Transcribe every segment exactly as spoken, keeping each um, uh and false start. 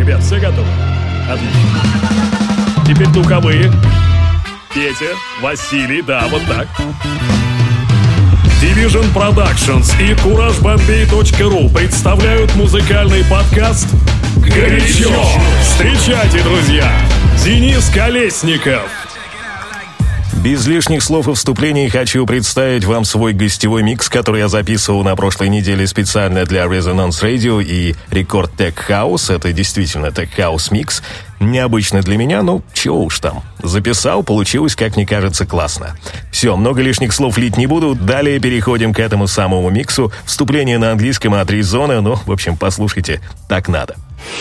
Ребят, все готовы? Отлично. Теперь духовые. Петя, Василий, да, вот так. Division Productions и кураж бомбей точка ру представляют музыкальный подкаст «Горячо». Встречайте, друзья, Денис Колесников. Без лишних слов и вступлений хочу представить вам свой гостевой микс, который я записывал на прошлой неделе специально для Resonance Radio и Record Tech House. Это действительно Tech House микс. Необычно для меня, ну, чего уж там. Записал, получилось, как мне кажется, классно. Все, много лишних слов лить не буду. Далее переходим к этому самому миксу. Вступление на английском от Резона. Ну, в общем, послушайте, так надо.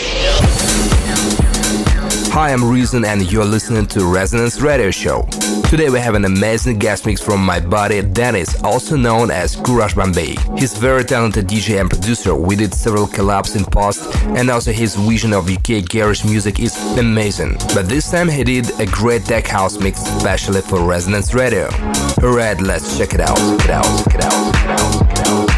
Hi, I'm Reason and you're listening to Resonance Radio Show. Today we have an amazing guest mix from my buddy Dennis, also known as Courage Bombay. He's a very talented D J and producer. We did several collabs in past, and also his vision of U K garage music is amazing. But this time he did a great tech house mix especially for Resonance Radio. Alright, let's check it out. Check it out. Check it out. Check it out. Check it out.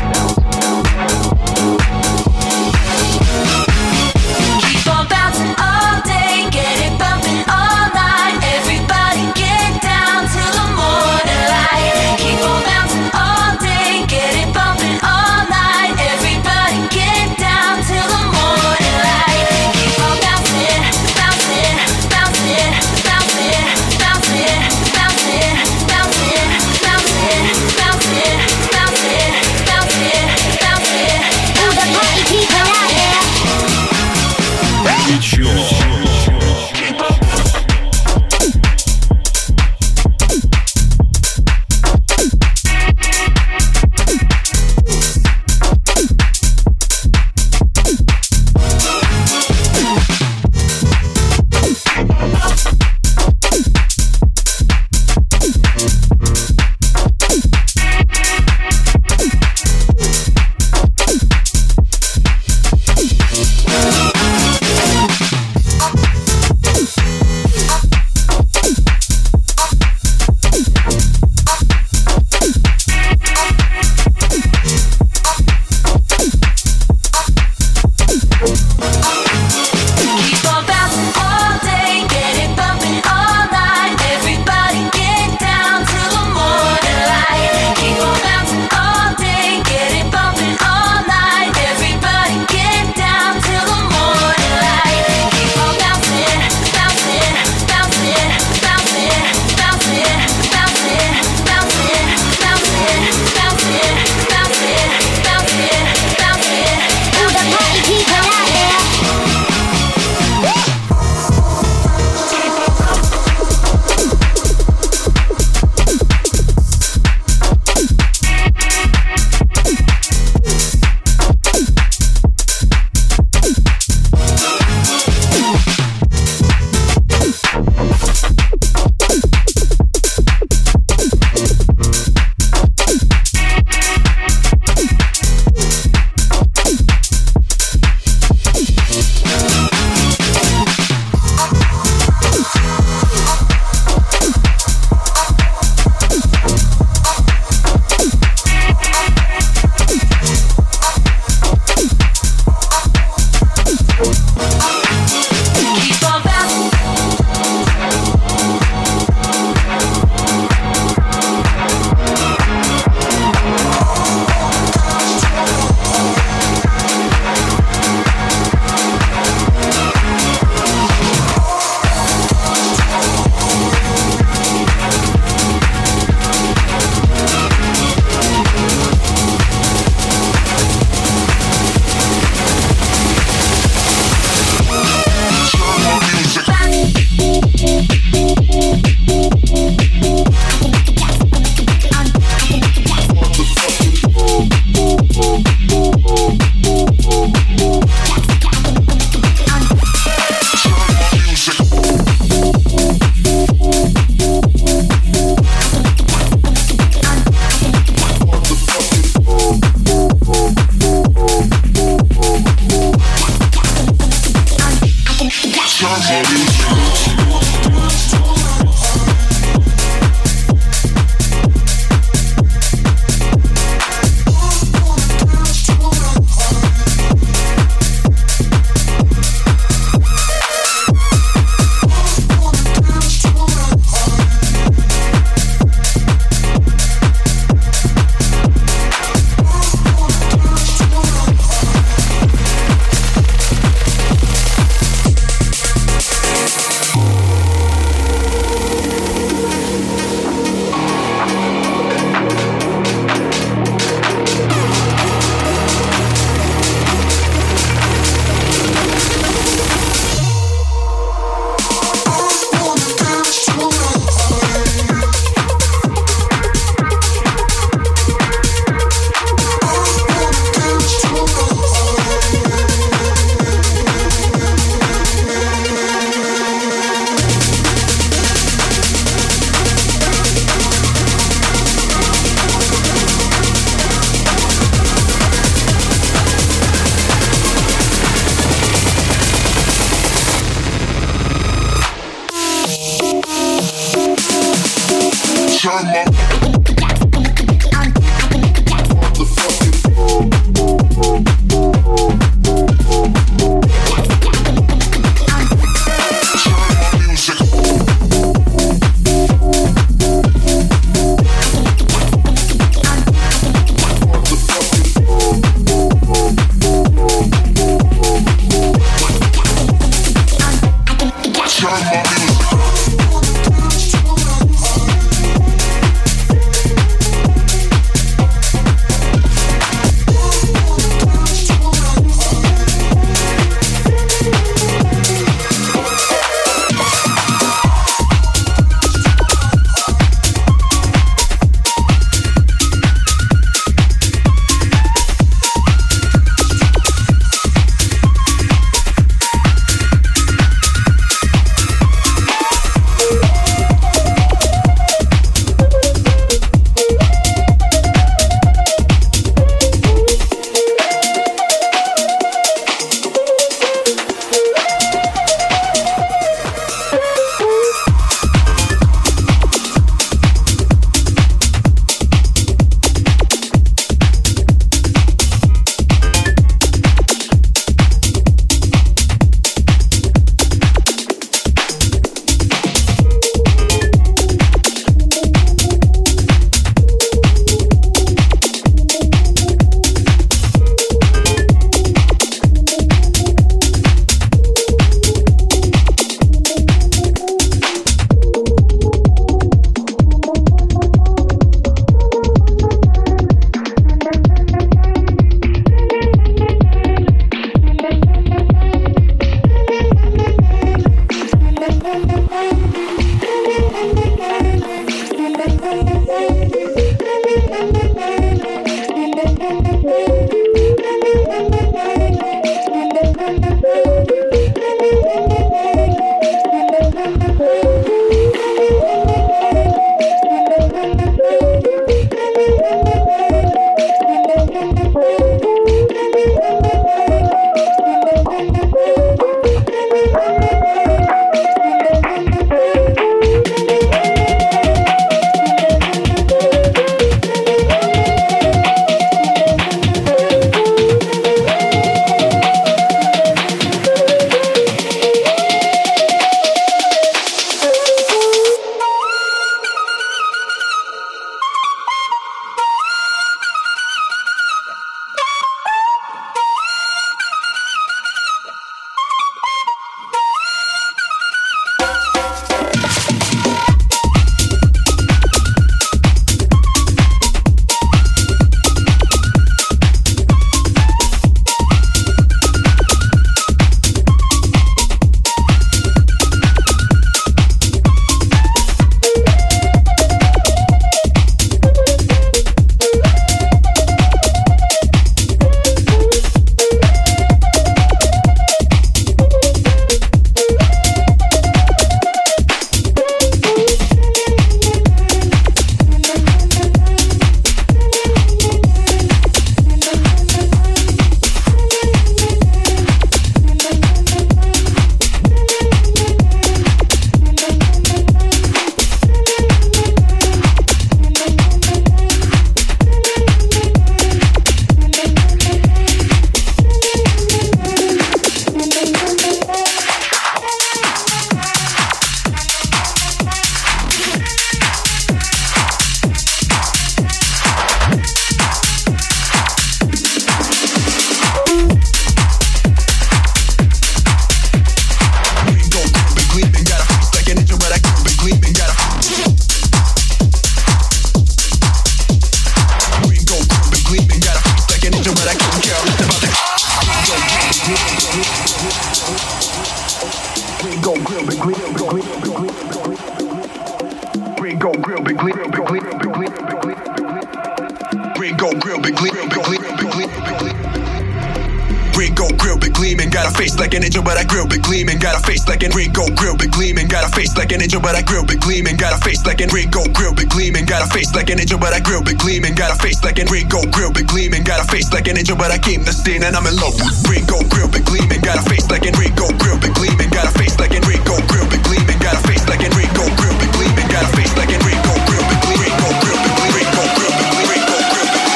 Like an angel, but I grill big gleaming. Got a face like an Ringo, grill big gleaming. Got a face like an angel, but I grill big gleaming. Got a face like an Ringo, grill big gleaming. Got a face like an angel, but I grill big gleaming. Got a face like an Ringo, grill big gleaming. Got a face like an angel, but I came the scene and I'm in love with Ringo, grill big gleaming. Got a face like an Ringo, grill big gleaming. Got a face like an Ringo, grill big gleaming. Got a face like an Ringo, grill big gleaming. Got a face like an Ringo, grill big gleaming. Ringo, grill big gleaming. Ringo, grill big gleaming. Ringo, grill big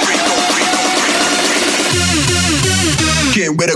gleaming. Can't wait to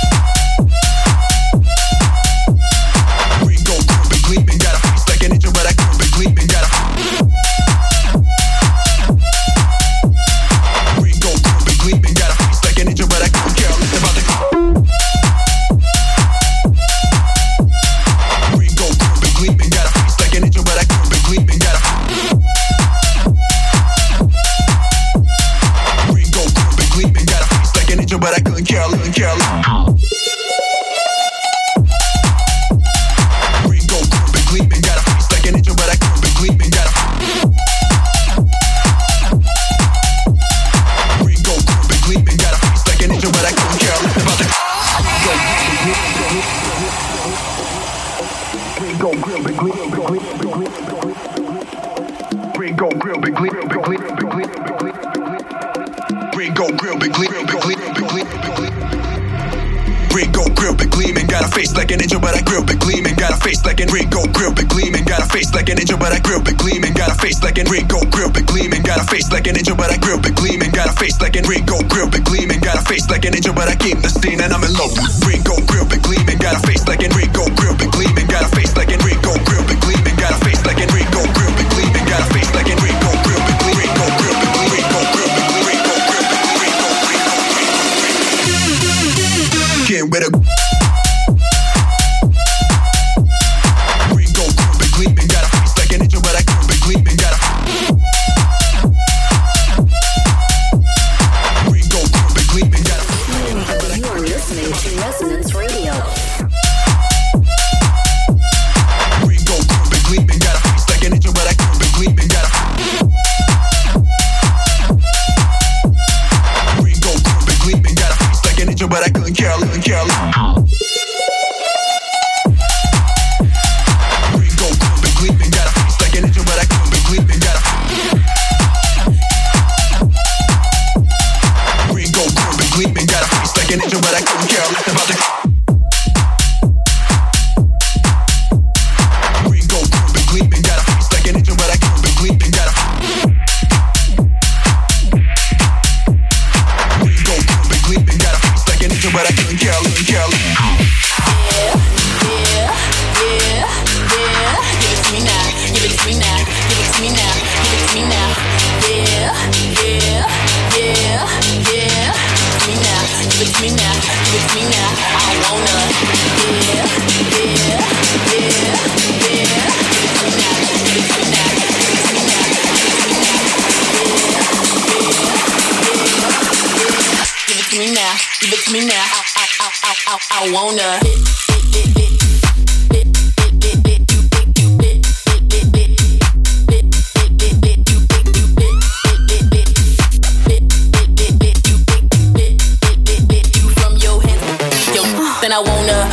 like an angel, but I grill big gleaming. Got a face like an Ringo, grill big gleaming. Got a face like an angel, but I grill big gleaming. Got a face like an Ringo, grill big gleaming. Got a face like an angel, but I came the scene and I'm in love with Ringo, grill big gleaming. Got a face like an Ringo, grill big gleaming. Got a face like an Ringo, grill big gleaming. Got a face like an Ringo, grill big gleaming. Got a face like an Ringo, grill big gleaming. Ringo, grill big gleaming. Ringo, grill big gleaming. Ringo, grill big gleaming. Can't wait to I wanna from your hands, yo, then I wanna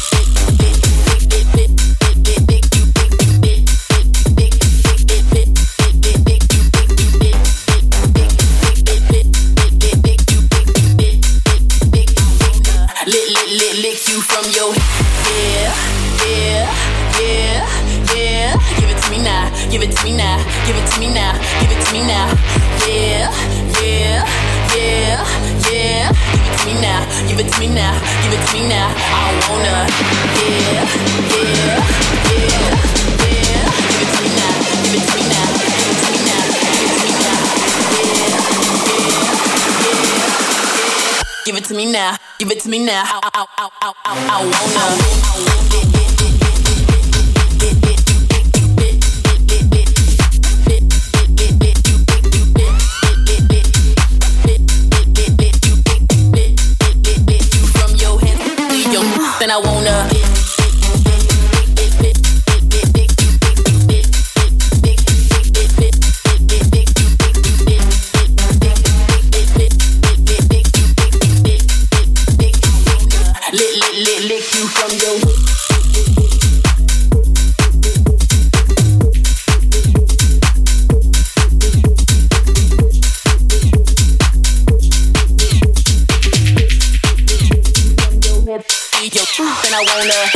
lick you from your yeah, yeah, yeah, yeah. Give it to me now, give it to me now, give it to me now, give it to me now. Yeah, yeah, yeah, yeah. Give it to me now, give it to me now, give it to me now. I wanna yeah, yeah, yeah, yeah. Give it to me now, give it to me now, give it to me now, give it to me now. Yeah, yeah, yeah. Give it to me now. Give it to me now. I, I, I, I, I, I wanna. From your hands, then then I wanna. Lick, lick, lick, lick you from your hood. Your truth, and I wanna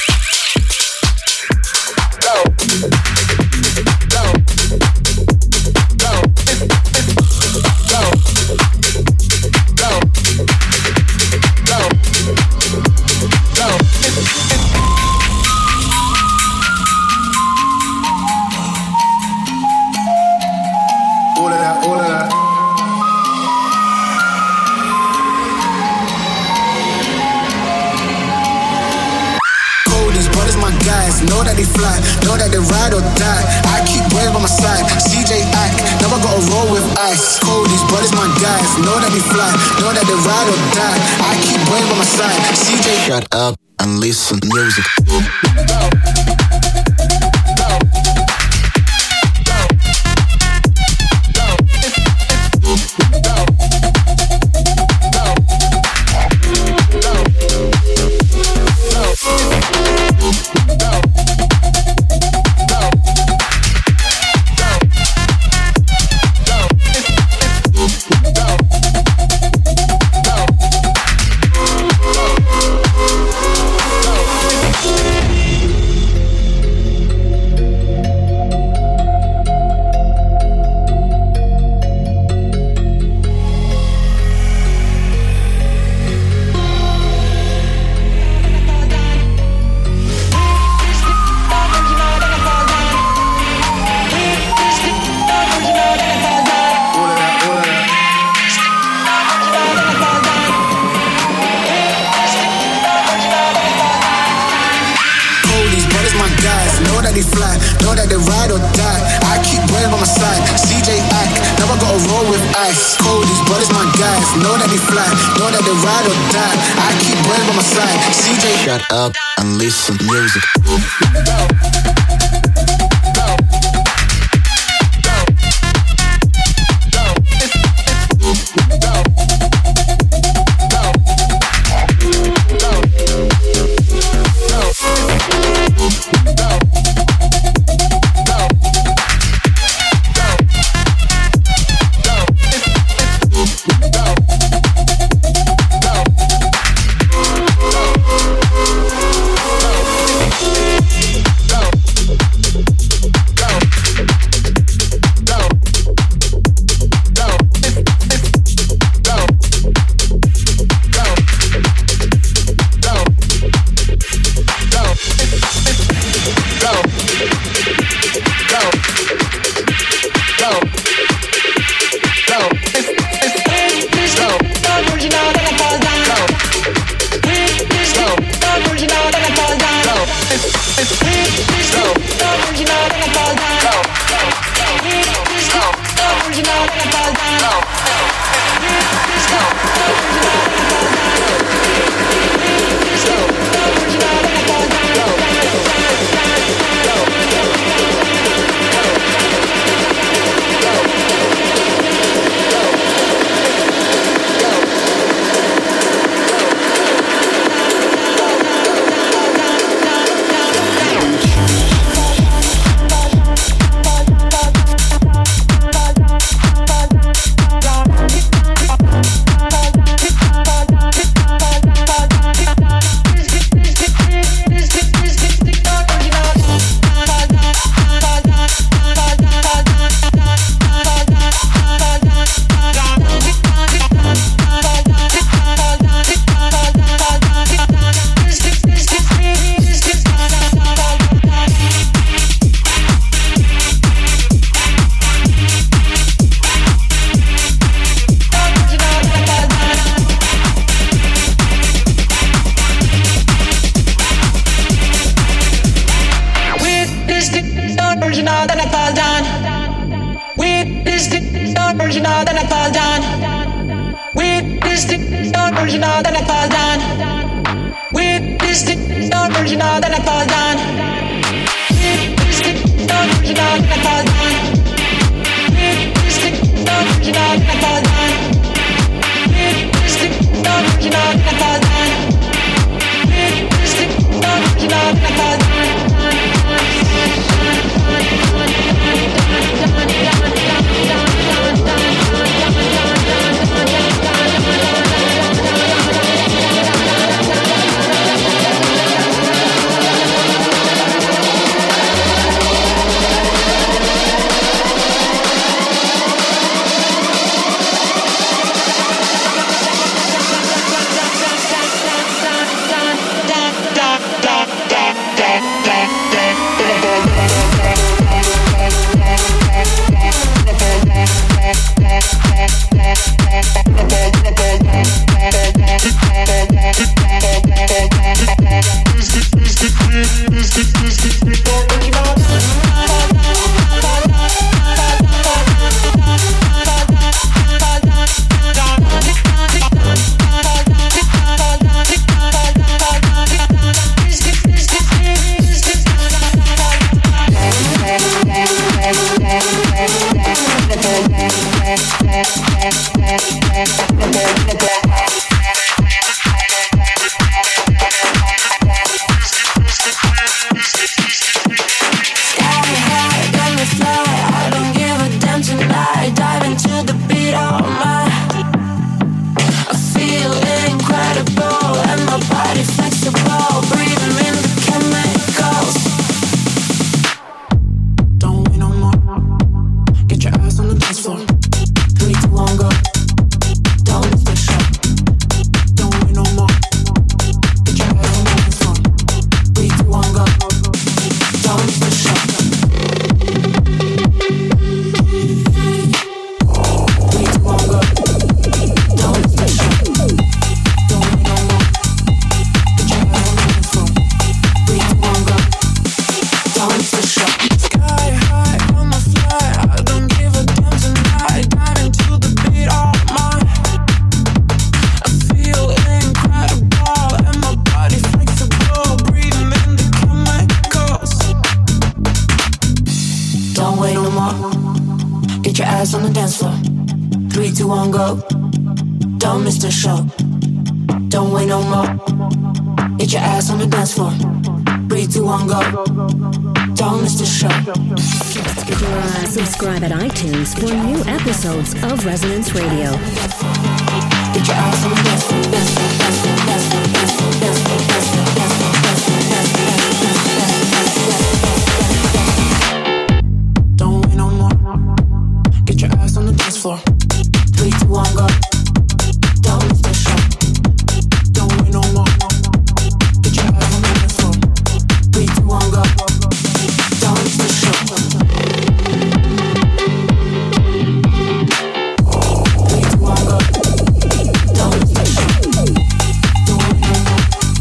go, go, go, go, go, go, go. All of that, all of that. Guys, know that they fly, know that they ride or die. I keep boys by my side, C J Ack, never gotta roll with ice. Cold, these brothers my guys, know that they fly, know that they ride or die. I keep boys by my side, C J. Shut up and listen to music. Shut up and listen to music. original, then I fall down. With this stick, not original, then I fall down. With this It's the original, then I fall down. It's the original, then I fall down. It's the original, then I fall down. It's the original, then I fall down. It's the original, then I fall down. Subscribe at iTunes for new episodes of Resonance Radio. Get your ass on the dance floor, dance floor, dance floor, dance floor, dance floor, dance floor, dance floor, dance floor, dance floor, dance floor, dance floor. Don't wait no more. Get your ass on the dance floor. Three, two, one, go. Don't miss the show. Don't wait no more. Get your ass on the dance floor. Three, two, one, go. Don't miss the show. Three, two, one, go. Don't miss the show. Don't wait no more.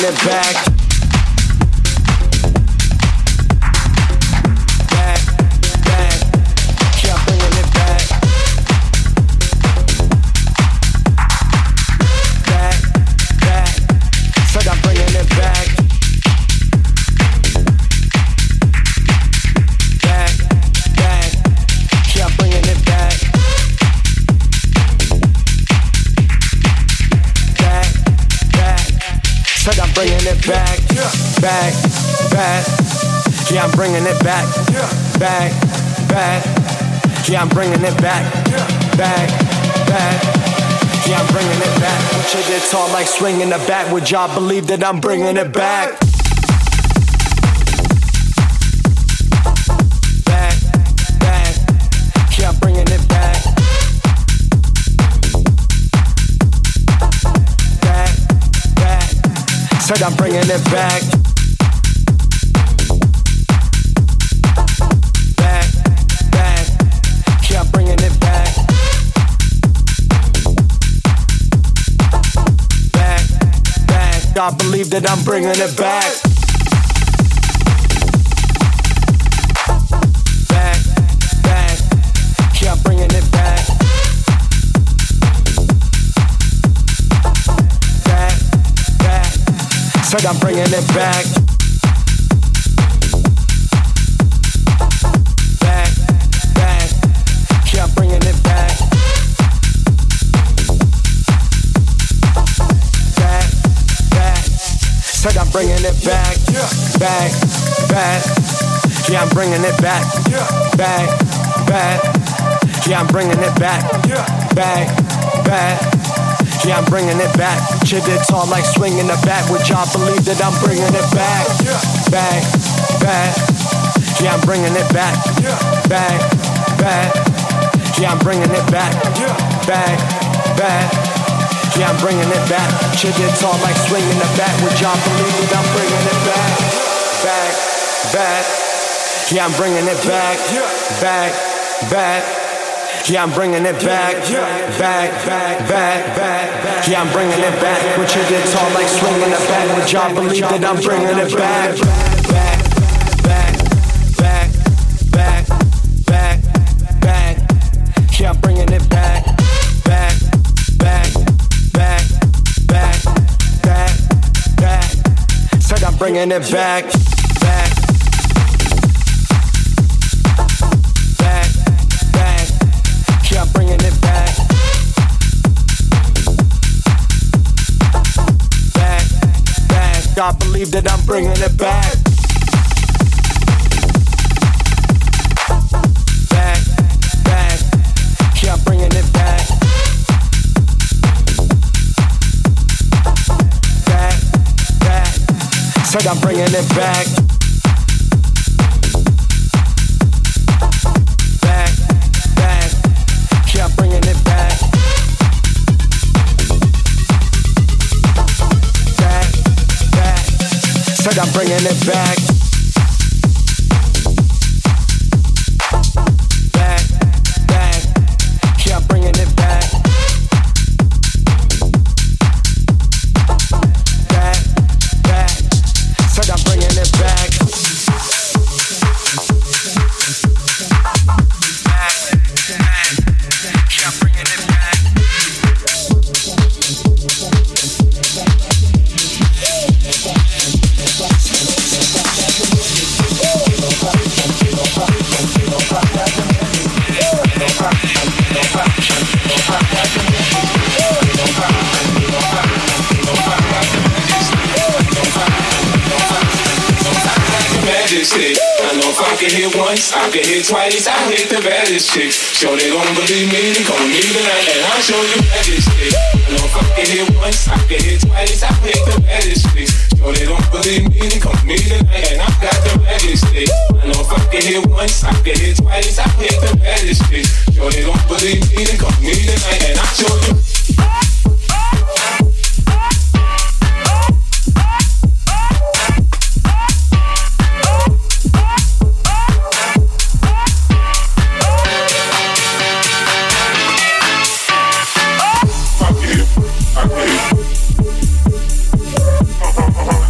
bringing it back. Back, back, back. Yeah, I'm bringing it back. Back, back. Yeah, I'm bringing it back. Back, back. Yeah, I'm bringing it back. Shit gets tall like swinging the bat. Would y'all believe that I'm bringing it back? Back, back. Yeah, I'm bringing it back. Said I'm bringing it back. Back, back. Yeah, I'm bringing it back. Back, back. I believe that I'm bringing it back. Back, back. Yeah, I'm bringing it back. Said I'm bringing it back. Back, back. Yeah, I'm bringing it back. Back, back. Said I'm bringing it back. Back, back. Yeah, I'm bringing it back. Back, back. Yeah, I'm bringing it back. Back, back. Yeah, I'm bringing it back. Shit, it's all like swinging the bat. Would y'all believe that I'm bringing it back? Back, back. Yeah, I'm bringing it back. Back, back. Yeah, I'm bringing it back. Back, back. Yeah, I'm bringing it back. Shit, it's all like swinging the bat. Would y'all believe that I'm bringing it back? Back, back. Yeah, I'm bringing it back. Back, back. Yeah, I'm bringing it back, back, back, back, back. Yeah, I'm bringing it back. When shit gets all like swinging the bat, would y'all believe that I'm bringing it back? Back, back, back, back, back, back. Yeah, I'm bringing it back, back, back, back, back, back, back. Said I'm bringing it back, back. I'm bringing it back. Back, back. I believe that I'm bringing it back. Back, back. Yeah, I'm bringing it back. Back, back. Said I'm bringing it back. I'm bringing it back. Back, back. Said I'm bringing it back. Back, back. Yeah, I'm bringing it back. Back, back. Said I'm bringing it back. I know if I can hit once, I can hit twice. I hit the baddest chick. Sure they don't believe me, they come with me tonight, and I'll show you baddest chick. I know if I can hit once, I can hit twice. I hit the baddest chick. Sure they don't believe me, they come with me tonight, and I got the baddest chick. I know if I can hit once, I can hit twice. I hit the baddest chick. Sure they don't believe me, they come with me tonight, and I'll show you. Uh-huh.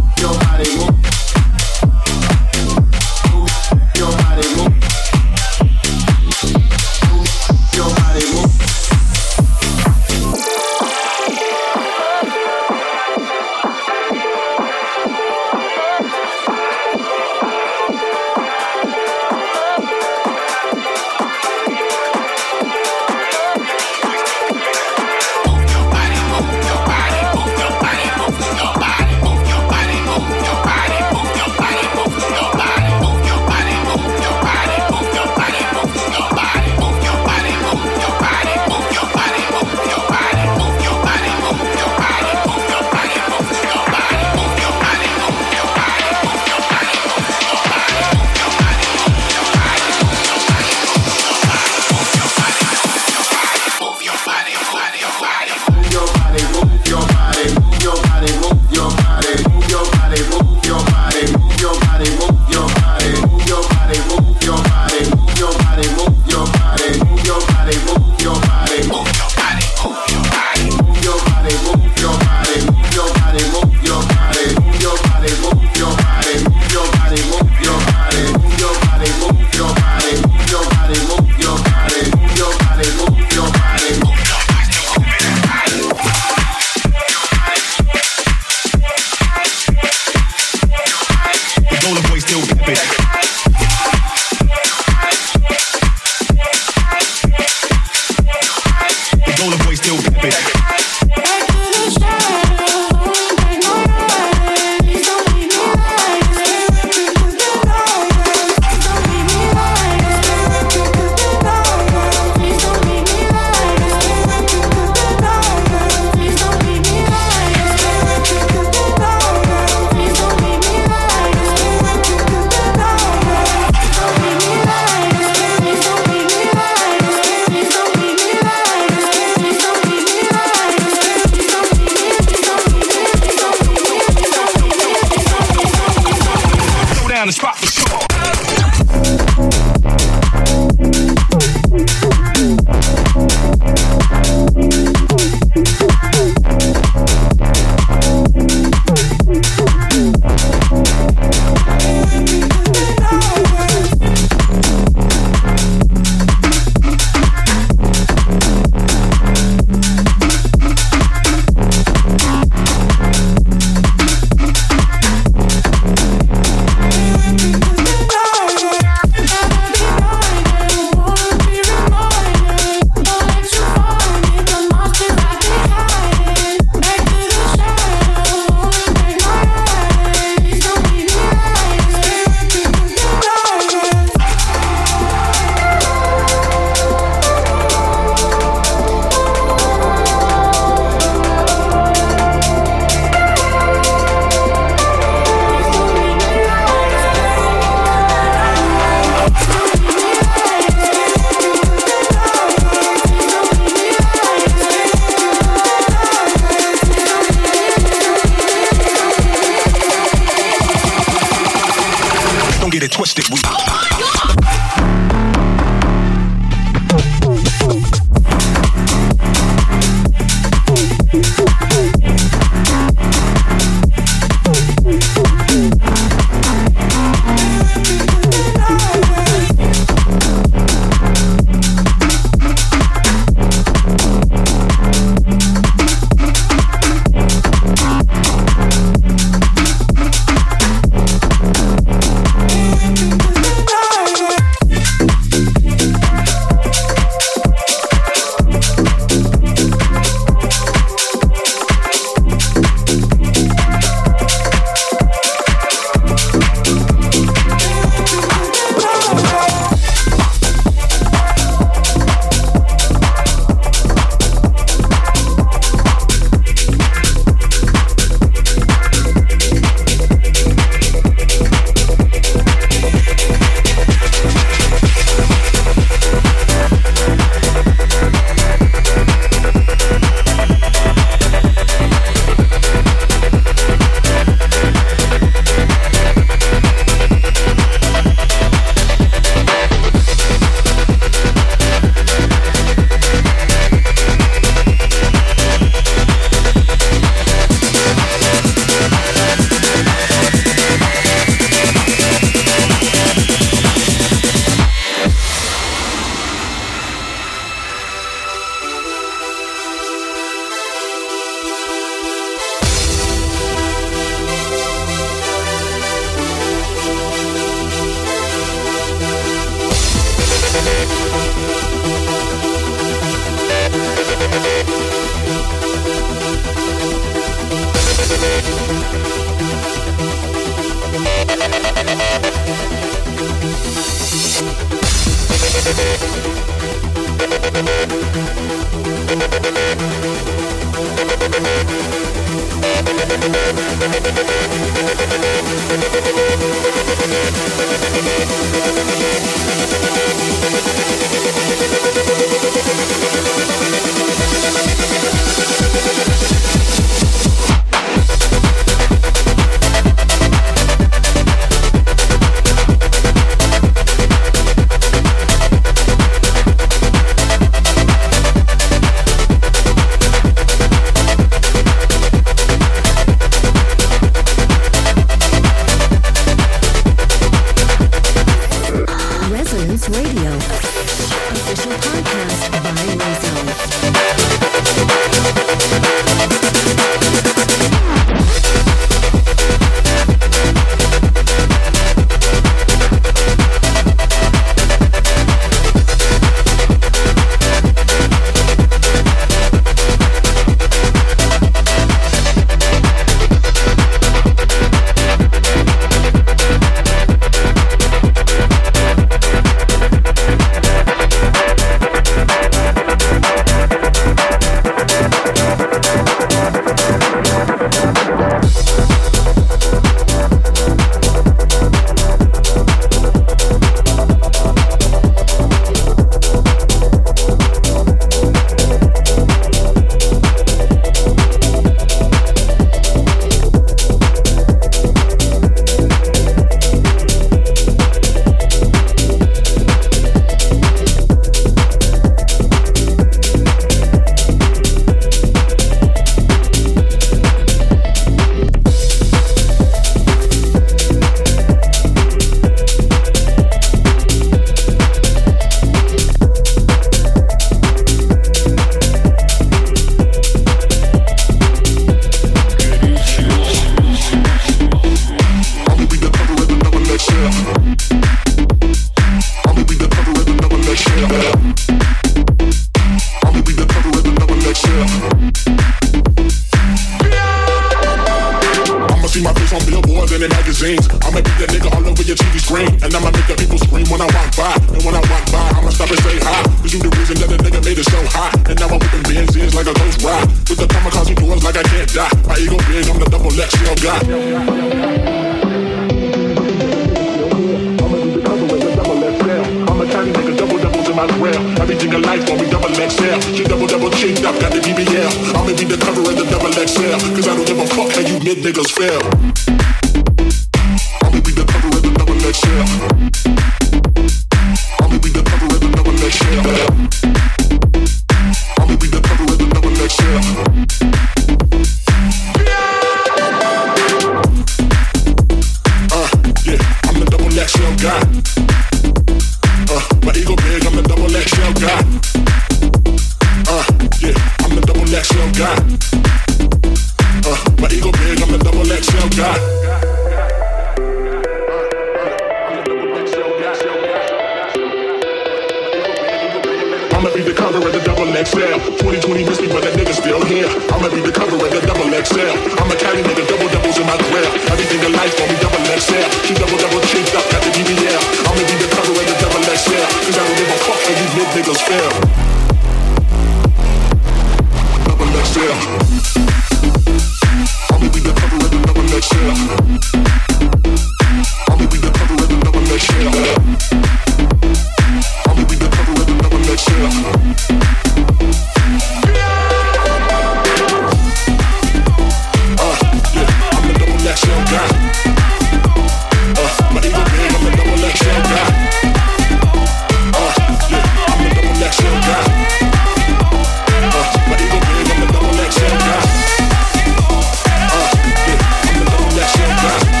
Yeah.